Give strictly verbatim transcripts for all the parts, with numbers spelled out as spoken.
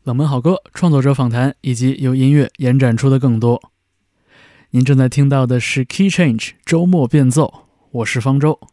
冷门好歌、创作者访谈以及由音乐延展出的更多。您正在听到的是 Key Change 周末变奏，我是方舟。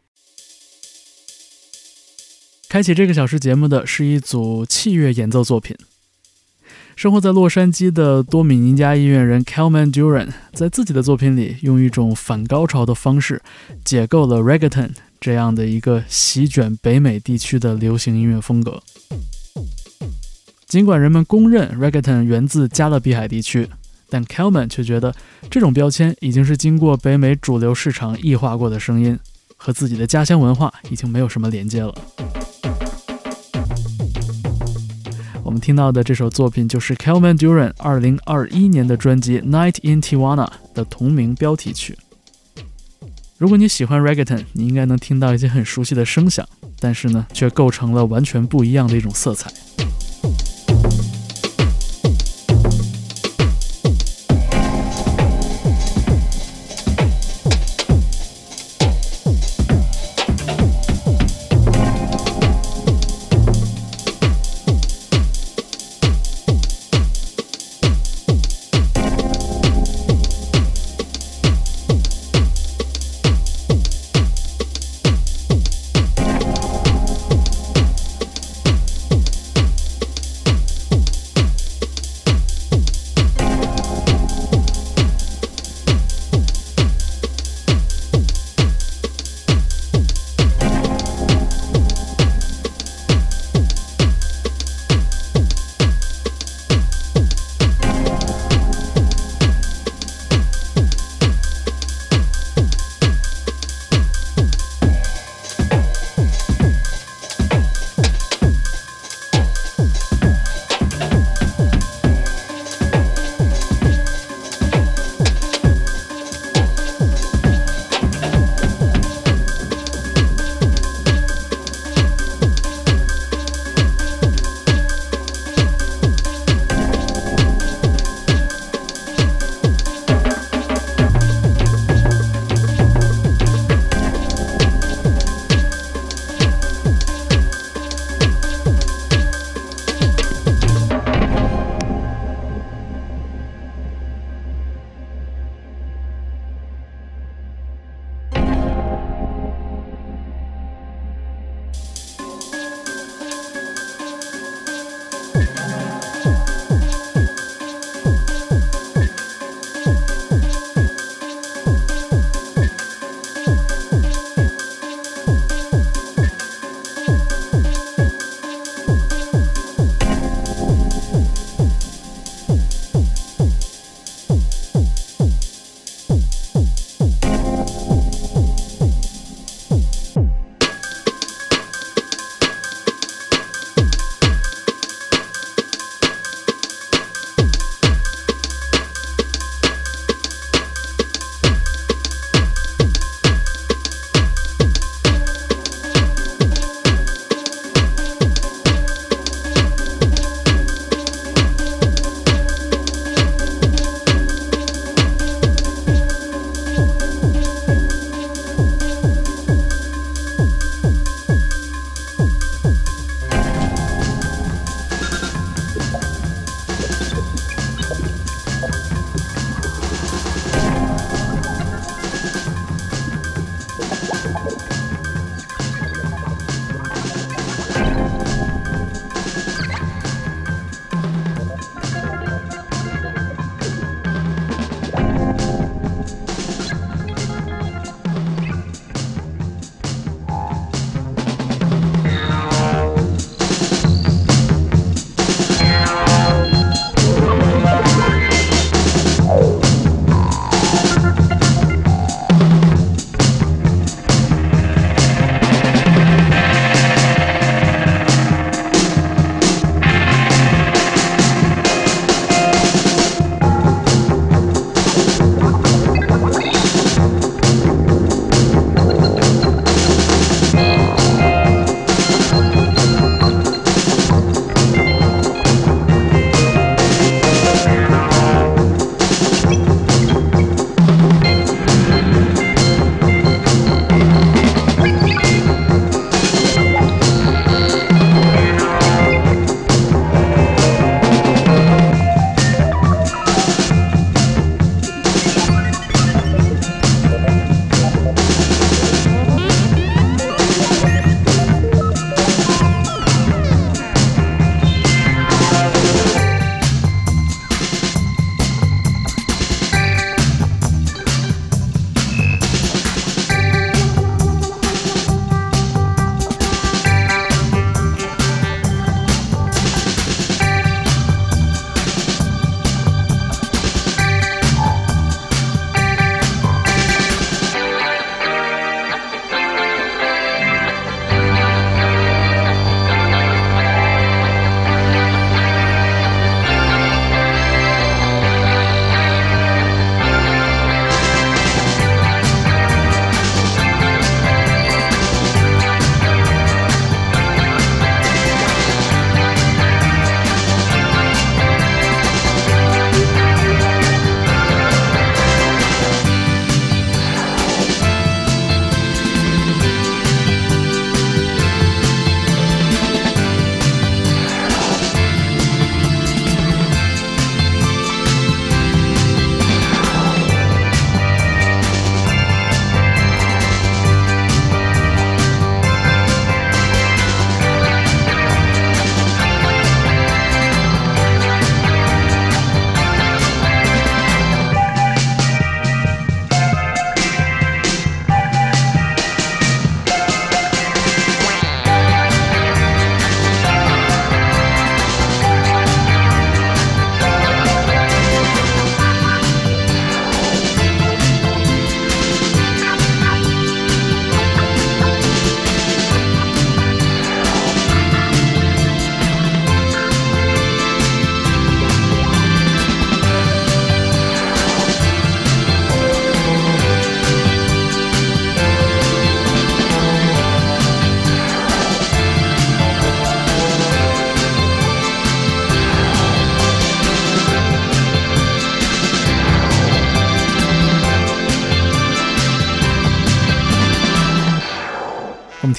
开启这个小时节目的是一组器乐演奏作品。生活在洛杉矶的多米尼加音乐人 Kelman Duran 在自己的作品里用一种反高潮的方式解构了 Reggaeton 这样的一个席卷北美地区的流行音乐风格。尽管人们公认 Reggaeton 源自加勒比海地区，但 Kelman 却觉得这种标签已经是经过北美主流市场异化过的声音，和自己的家乡文化已经没有什么连接了。我们听到的这首作品就是 Kelman Duran 二零二一年的专辑 Night in Tijuana 的同名标题曲。如果你喜欢 Reggaeton， 你应该能听到一些很熟悉的声响，但是呢，却构成了完全不一样的一种色彩。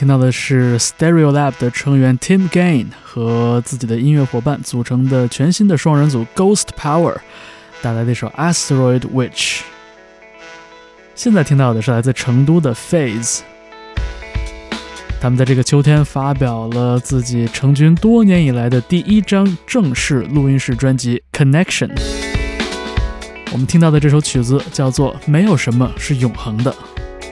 到的是 Stereolab 的成员 Tim Gain 和自己的音乐伙伴组成的全新的双人组 Ghost Power 带来的一首 Asteroid Witch。 现在听到的是来自成都的 Phase， 他们在这个秋天发表了自己成军多年以来的第一张正式录音室专辑 Connection。 我们听到的这首曲子叫做没有什么是永恒的。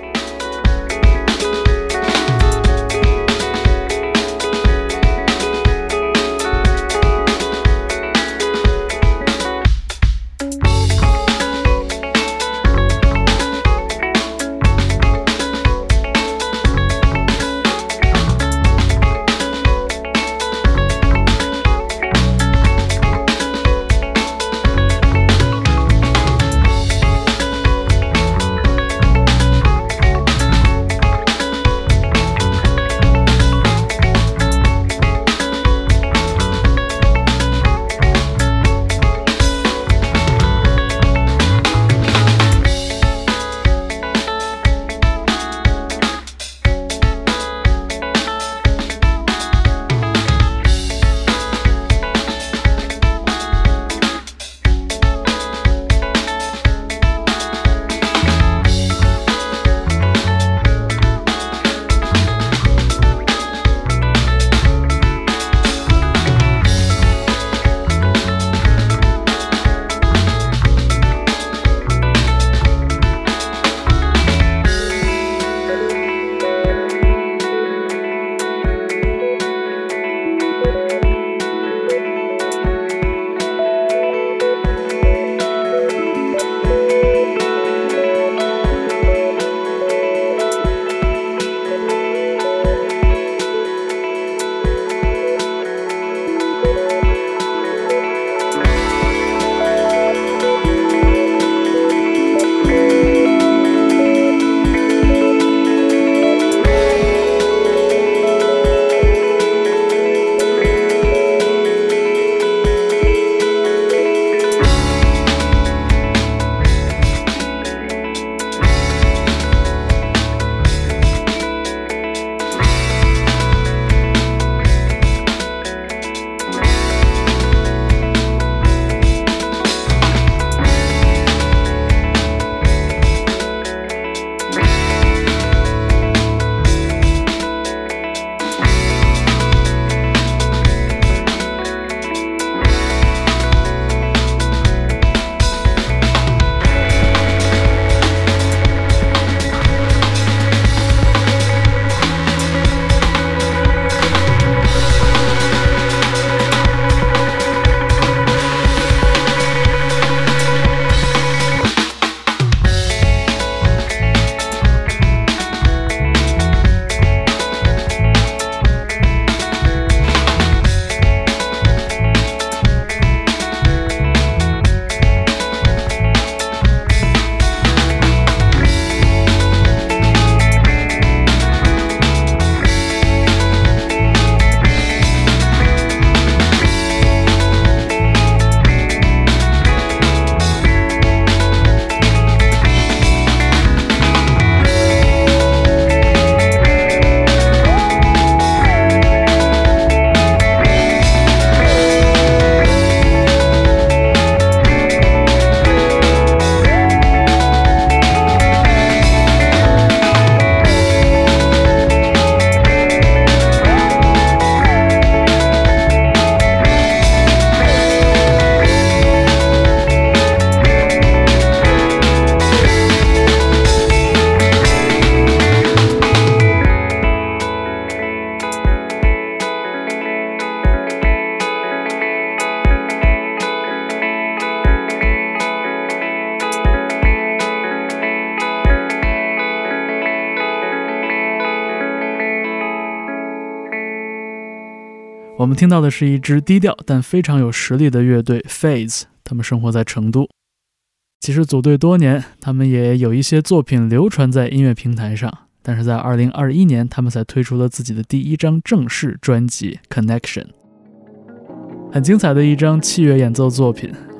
我们听到的是一支低调但非常有实力的乐队 Phase， 他们生活在成都。其实组队多年，他们也有一些作品流传在音乐平台上，但是在二零二一年他们才推出了自己的第一张正式专辑 Connection。 很精彩的一张器乐演奏作品，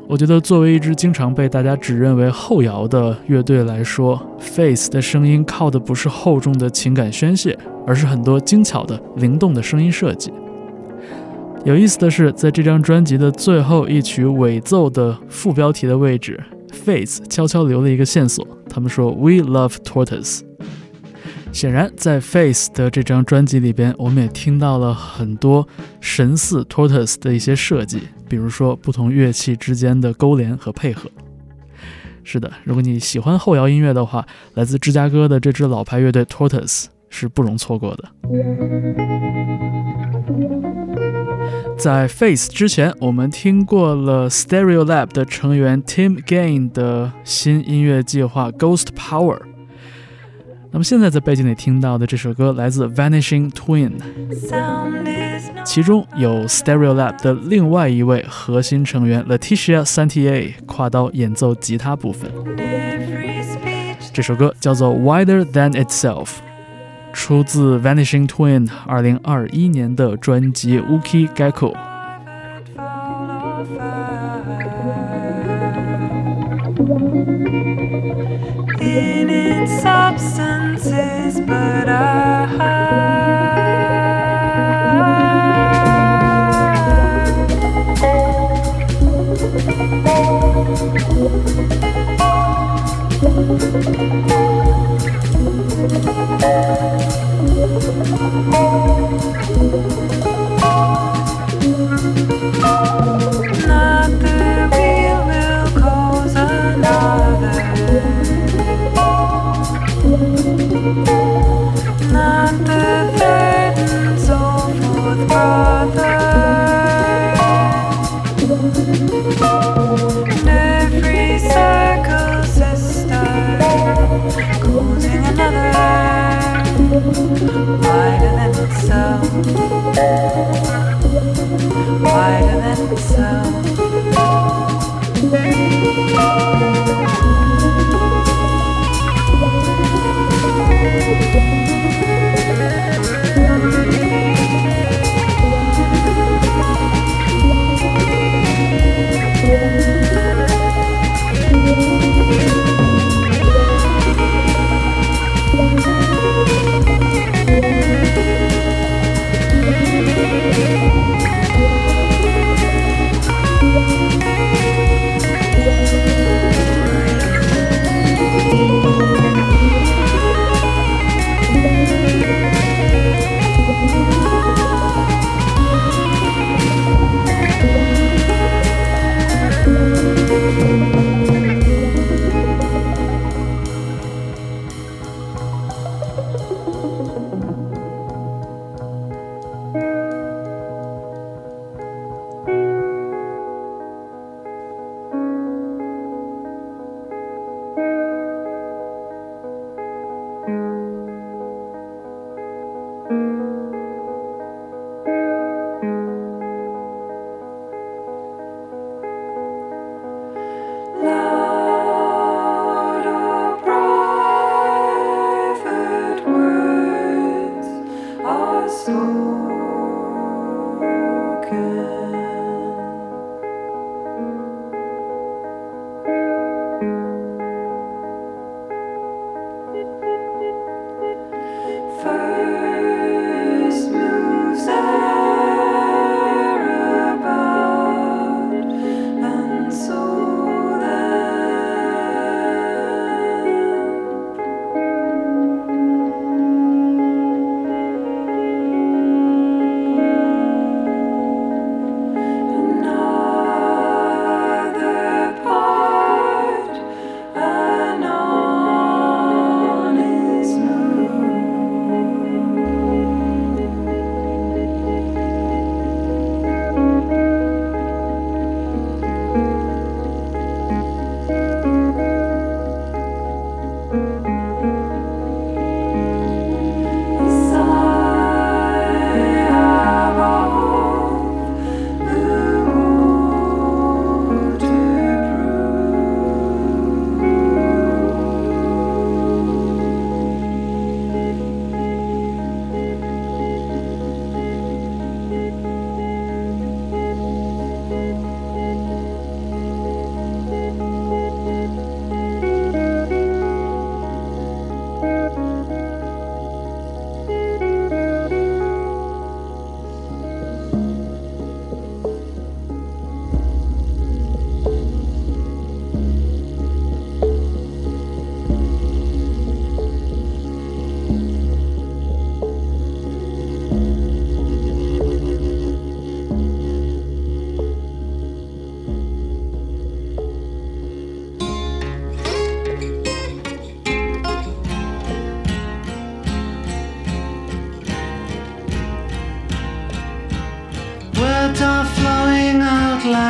我觉得作为一支经常被大家只认为后摇的乐队来说， Faith 的声音靠的不是厚重的情感宣泄，而是很多精巧的灵动的声音设计。有意思的是，在这张专辑的最后一曲尾奏的副标题的位置， Faith 悄悄留了一个线索，他们说 We love Tortoise。 显然在 Faith 的这张专辑里边，我们也听到了很多神似 Tortoise 的一些设计，比如说不同乐器之间的勾连和配合。是的，如果你喜欢后摇音乐的话，来自芝加哥的这支老牌乐队 Tortoise 是不容错过的。在 Faith 之前，我们听过了 Stereolab 的成员 Tim Gain 的新音乐计划 Ghost Power。 那么现在在背景里听到的这首歌来自 Vanishing Twin， 其中有 Stereolab 的另外一位核心成员 Leticia Santier 跨刀演奏吉他部分。这首歌叫做 Wider Than Itself，出自 Vanishing Twin 二零二一年的专辑 Uki Gecko。 In its substances, but I not the real will cause another, not the third and so forth brother, and every circle sister causing another, wider than itself, wider than itself.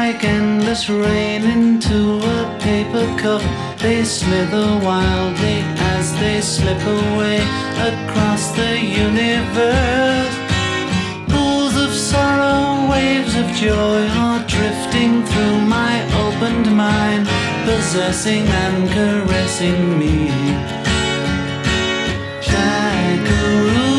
like endless rain into a paper cup. They slither wildly as they slip away across the universe. Pools of sorrow, waves of joy are drifting through my opened mind, possessing and caressing me. Shakaru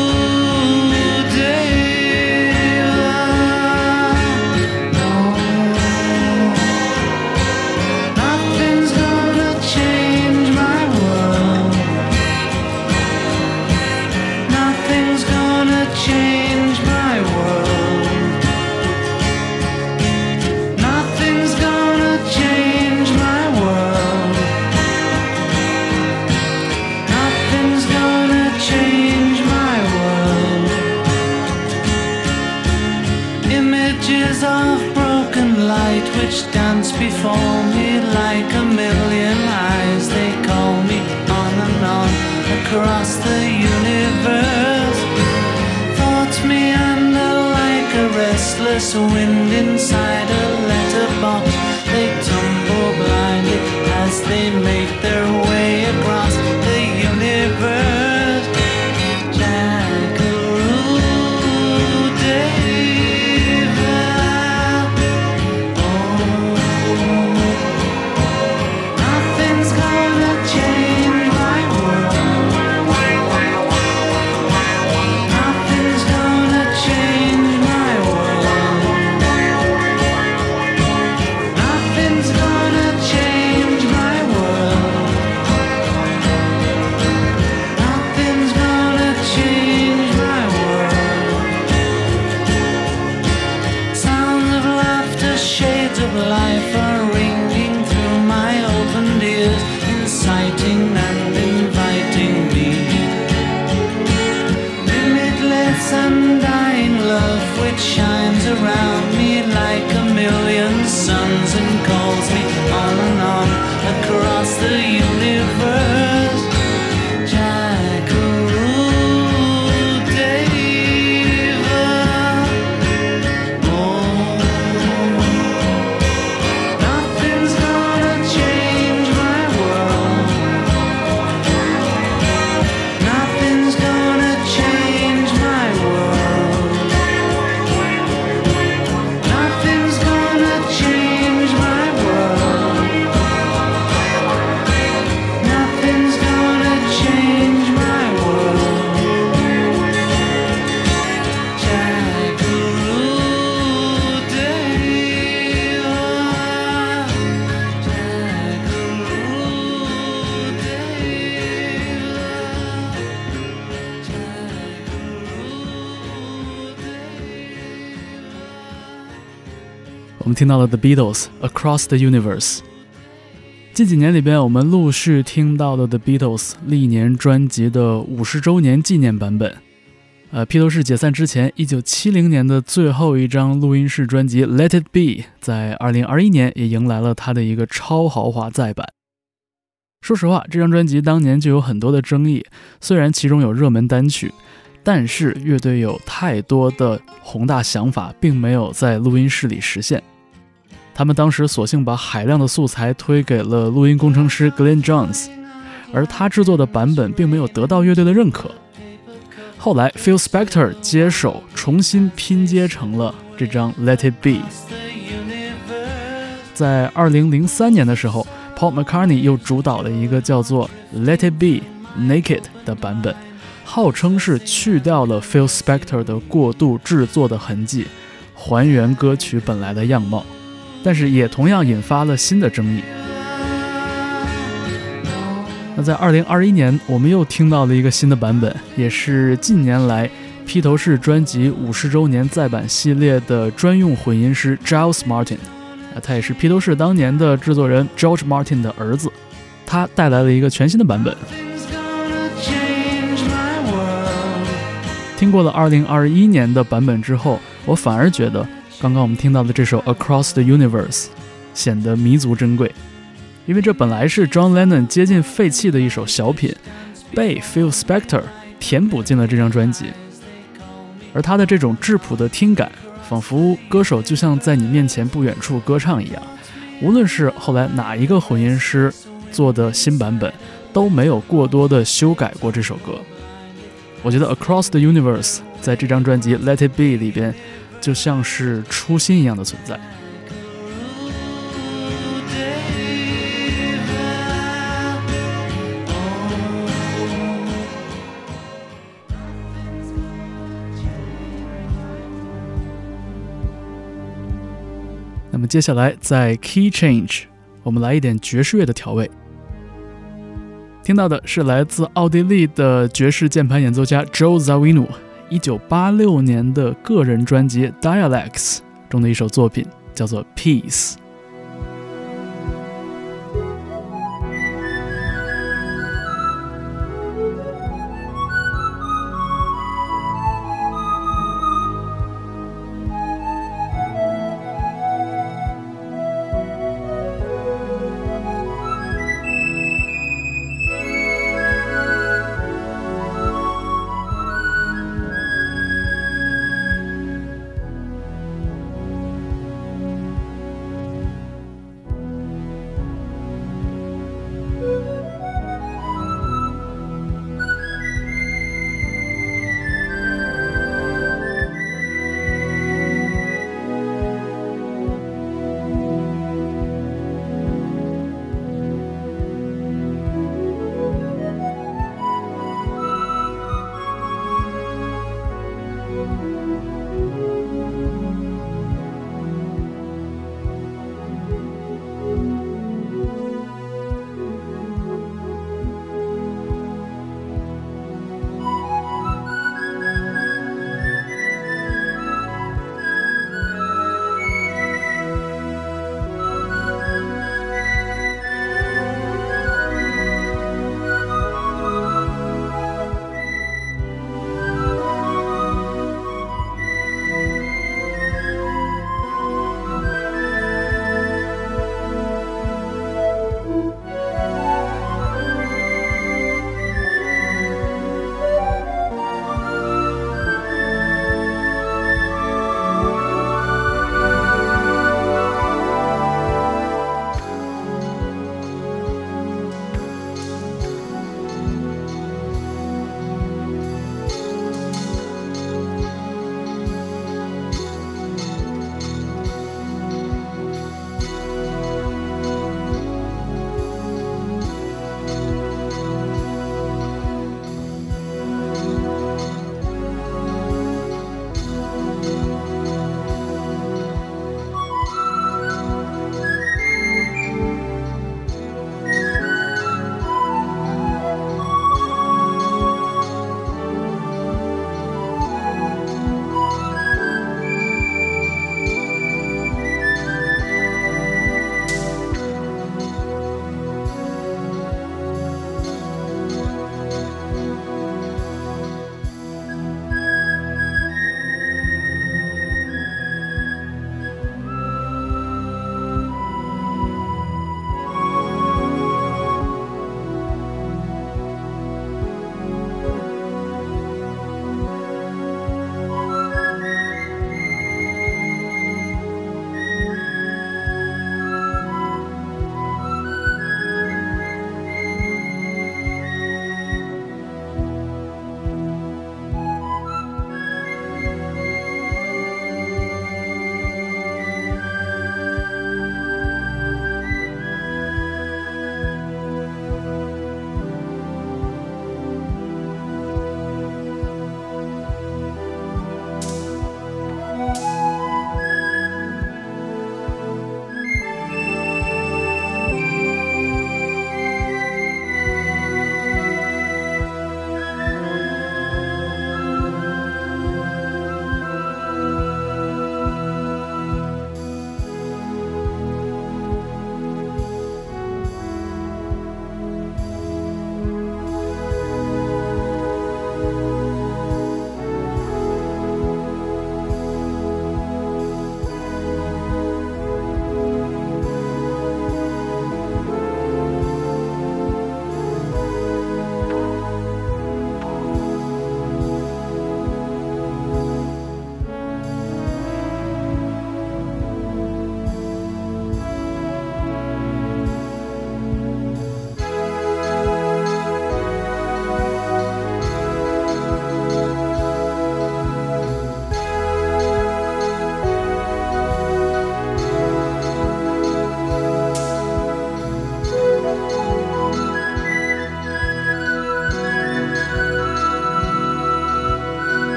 which dance before me like a million eyes. They call me on and on across the universe. Thoughts meander like a restless wind inside a letterbox. They tumble blindly as they make their way across the universe. Shines around me like a million suns and calls me on and on across the universe. Jackaroo Deva. Oh, nothing's gonna change my world. Nothing's gonna change my world. 我们听到了 The Beatles Across the Universe。 近几年里边我们陆续听到了 The Beatles 历年专辑的五十周年纪念版本。呃，披头士解散之前一九七零年的最后一张录音室专辑 Let It Be 在二零二一年也迎来了它的一个超豪华再版。说实话，这张专辑当年就有很多的争议，虽然其中有热门单曲，但是乐队有太多的宏大想法并没有在录音室里实现。他们当时索性把海量的素材推给了录音工程师 Glenn Johns， 而他制作的版本并没有得到乐队的认可。后来 Phil Spector 接手重新拼接成了这张 Let It Be。 在二零零三年的时候， Paul McCartney 又主导了一个叫做 Let It Be Naked 的版本，号称是去掉了 Phil Spector 的过度制作的痕迹，还原歌曲本来的样貌，但是也同样引发了新的争议。那在二零二一年，我们又听到了一个新的版本，也是近年来披头士专辑五十周年再版系列的专用混音师 Giles Martin， 他也是披头士当年的制作人 George Martin 的儿子，他带来了一个全新的版本。听过了二零二一年的版本之后，我反而觉得刚刚我们听到的这首 Across the Universe 显得弥足珍贵，因为这本来是 John Lennon 接近废弃的一首小品，被 Phil Spector 填补进了这张专辑。而他的这种质朴的听感仿佛歌手就像在你面前不远处歌唱一样。无论是后来哪一个混音师做的新版本，都没有过多的修改过这首歌。我觉得 Across the Universe 在这张专辑 Let It Be 里边就像是初心一样的存在。那么接下来在 Key Change 我们来一点爵士乐的调味。听到的是来自奥地利的爵士键盘演奏家 Joe Zawinul 一九八六年的个人专辑 Dialects 中的一首作品，叫做 Peace。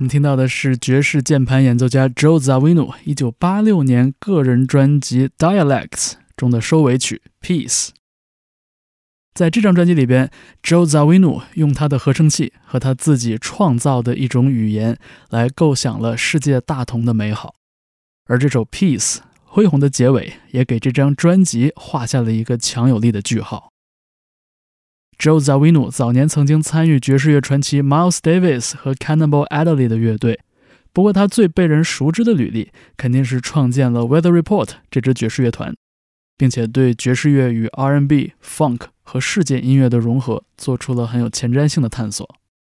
们听到的是爵士键盘演奏家 Joe Zawinul 一九八六年个人专辑 Dialects 中的收尾曲 Peace。 在这张专辑里边， Joe Zawinul 用他的合成器和他自己创造的一种语言来构想了世界大同的美好，而这首 Peace 恢宏的结尾也给这张专辑画下了一个强有力的句号。Joe Zawinul 早年曾经参与爵士乐传奇 Miles Davis 和 Cannonball Adderley 的乐队，不过他最被人熟知的履历肯定是创建了 Weather Report 这支爵士乐团，并且对爵士乐与 R and B、Funk 和世界音乐的融合做出了很有前瞻性的探索。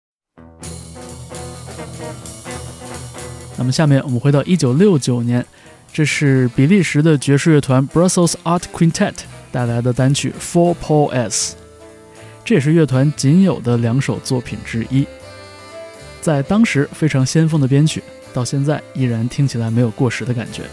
那么下面我们回到一九六九年，这是比利时的爵士乐团 Brussels Art Quintet 带来的单曲 For Paul S， 这也是乐团仅有的两首作品之一。在当时非常先锋的编曲，到现在依然听起来没有过时的感觉。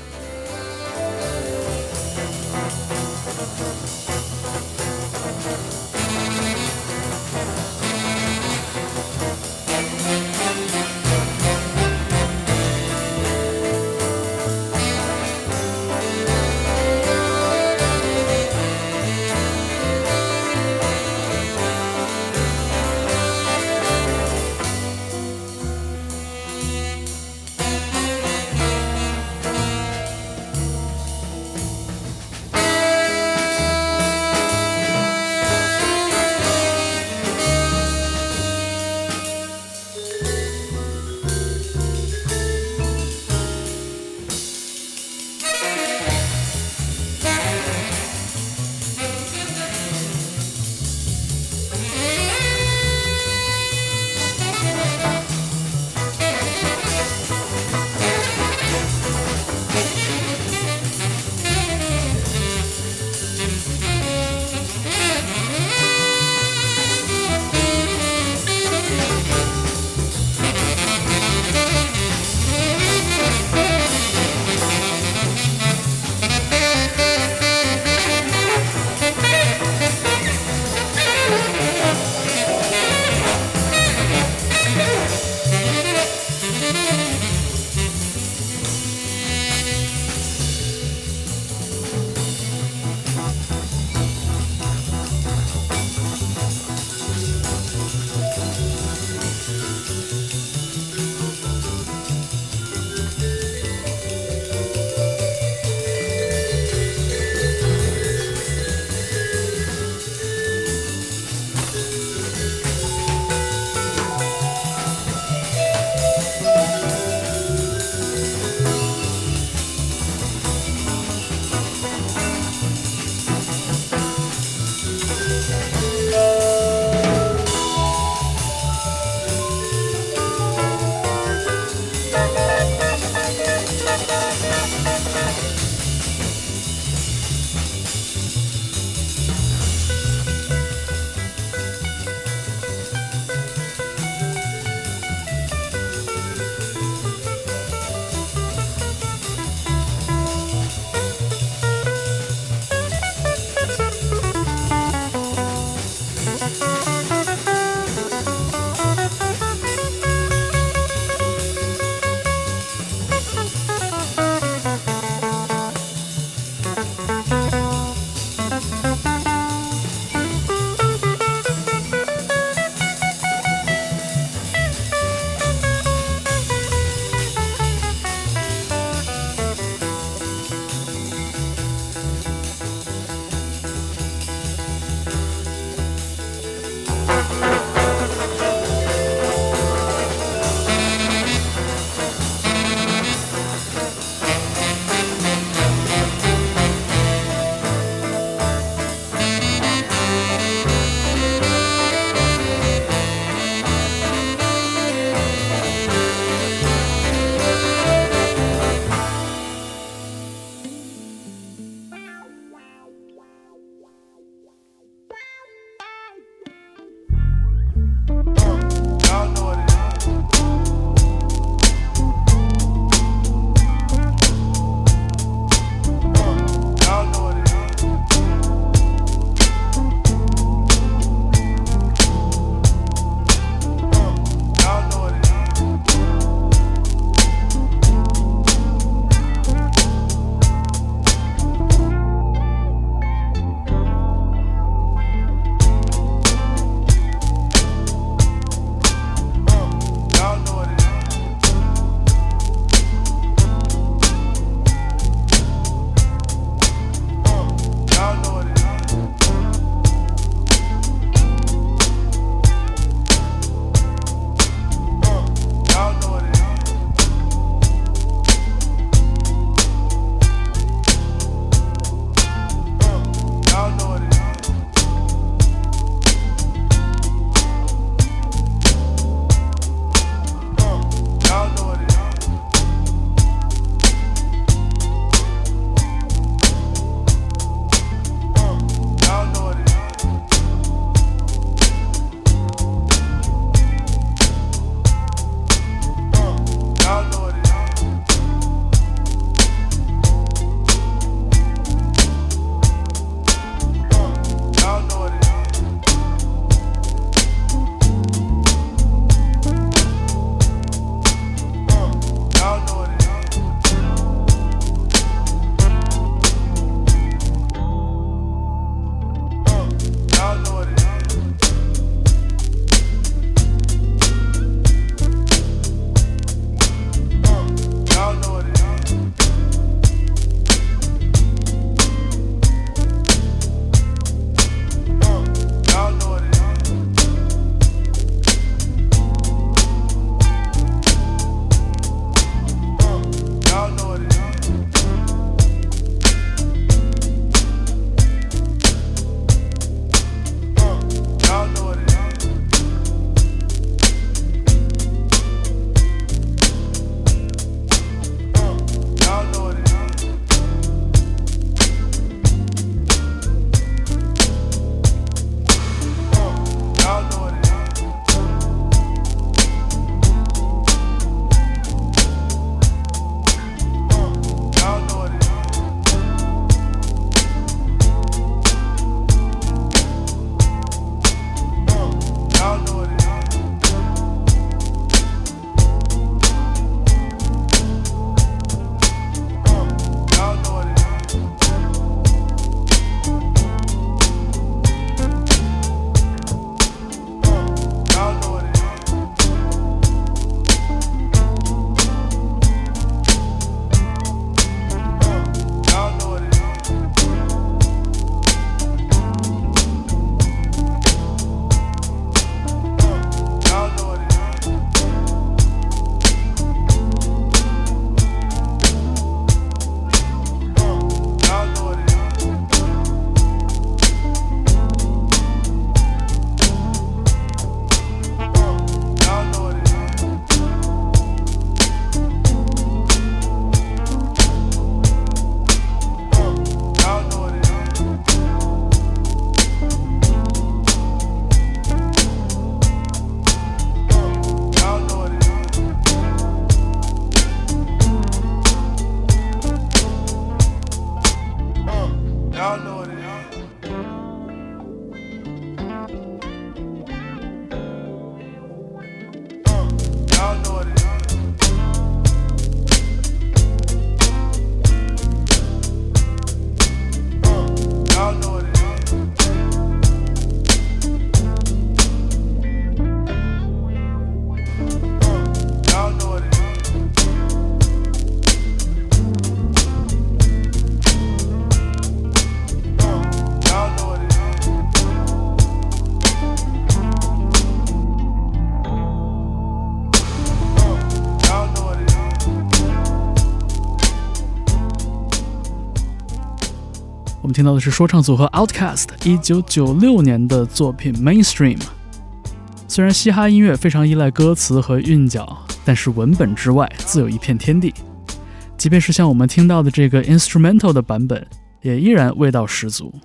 们听到的是说唱组合 Outkast 一九九六年的作品 Mainstream。 虽然嘻哈音乐非常依赖歌词和韵脚，但是文本之外自有一片天地，即便是像我们听到的这个 instrumental 的版本，也依然味道十足。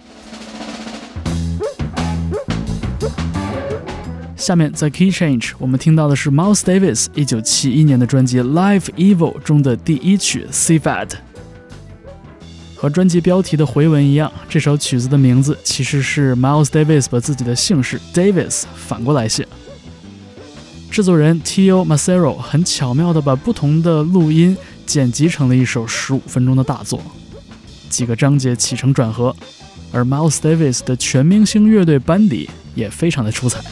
下面在 Key Change 我们听到的是 Miles Davis 一九七一年的专辑 Live Evil 中的第一曲 Sevad。 和专辑标题的回文一样，这首曲子的名字其实是 Miles Davis 把自己的姓氏 Davis 反过来写。制作人 Tio Macero 很巧妙地把不同的录音剪辑成了一首十五分钟的大作，几个章节起承转合，而 Miles Davis 的全明星乐队班底也非常的出彩。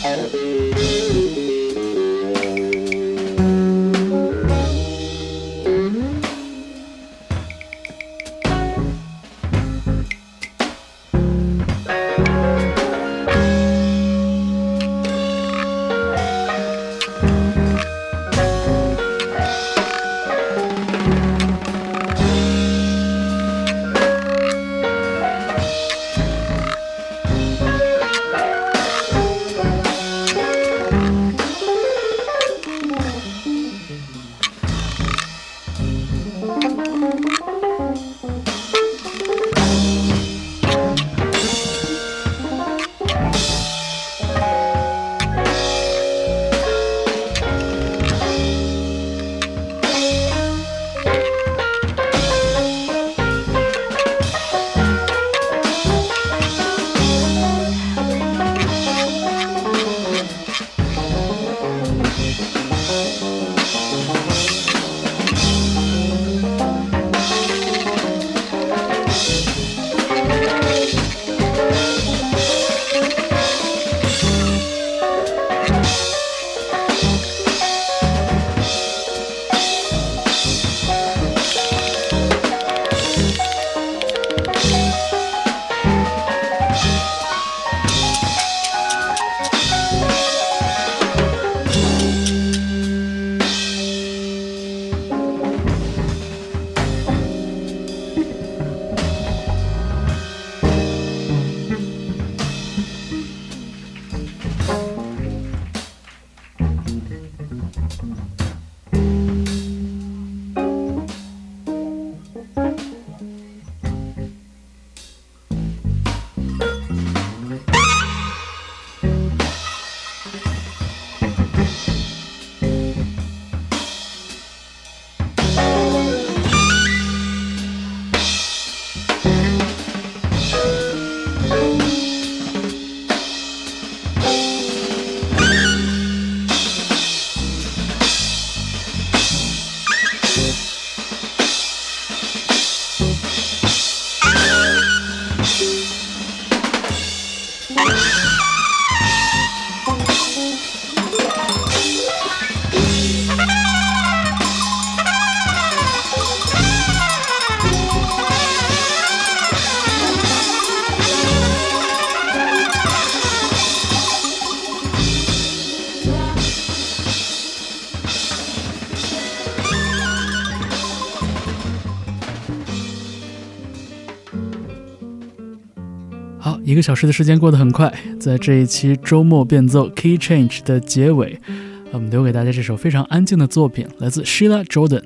好，一个小时的时间过得很快，在这一期周末变奏 Key Change 的结尾，我们留给大家这首非常安静的作品，来自 Sheila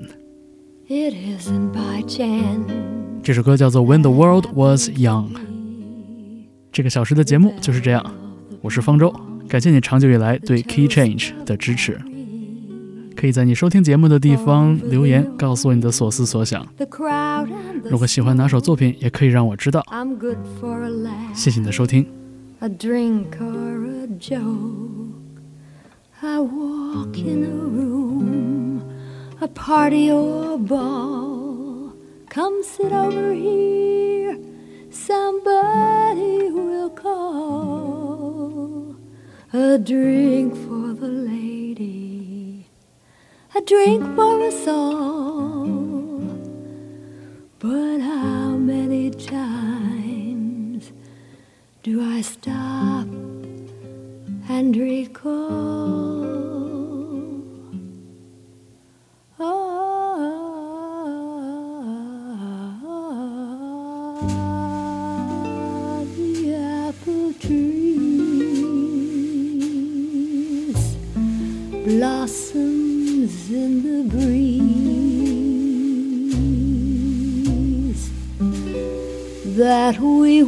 Jordan。It isn't by chance. 这首歌叫做 When the World Was Young。 这个小时的节目就是这样，我是方舟，感谢你长久以来对 Key Change 的支持。可以在你收听节目的地方留言，告诉我你的所思所想。如果喜欢哪首作品，也可以让我知道。谢谢你的收听。A drink or a joke, I walk in a room, a party or a ball, come sit over here, somebody will call. A drink for the lady,A drink for us all, but how many times do I stop and recall? Ah, the apple trees blossom.In the breeze that we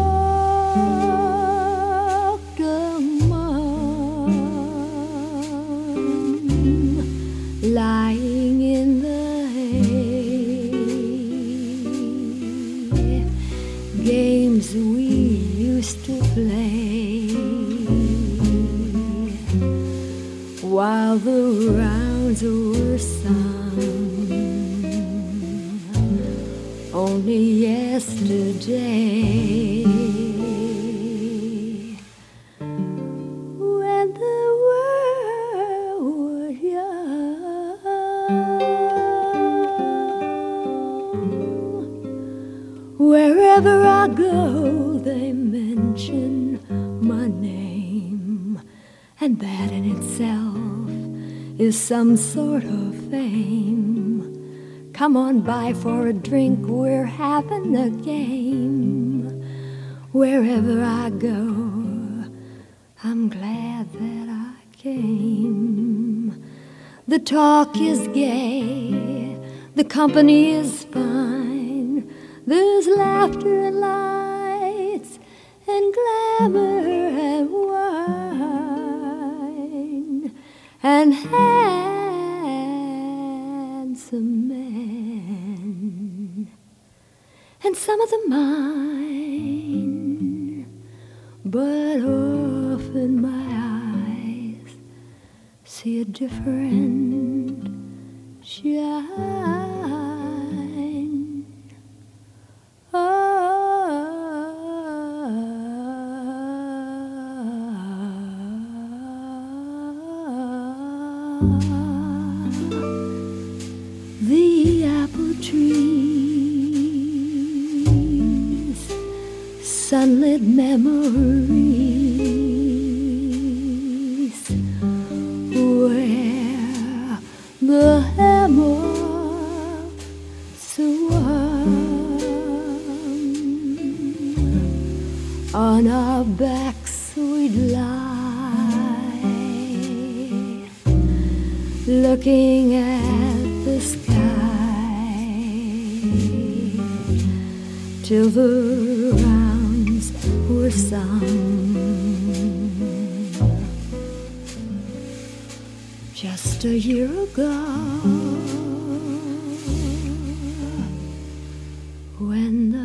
walked among, lying in the hay, games we used to play while the rounds were sung. Only yesterday, when I go, they mention my name, and that in itself is some sort of fame. Come on by for a drink, we're having a game. Wherever I go, I'm glad that I came. The talk is gay, the company is fine. There's laughter and lights and glamour and wine and handsome men, and some of them mine, but often my eyes see a different shine. The apple trees, sunlit memories, where the hammer swung on our backs we'd lie, looking at the sky till the rounds were sung. Just a year ago, when the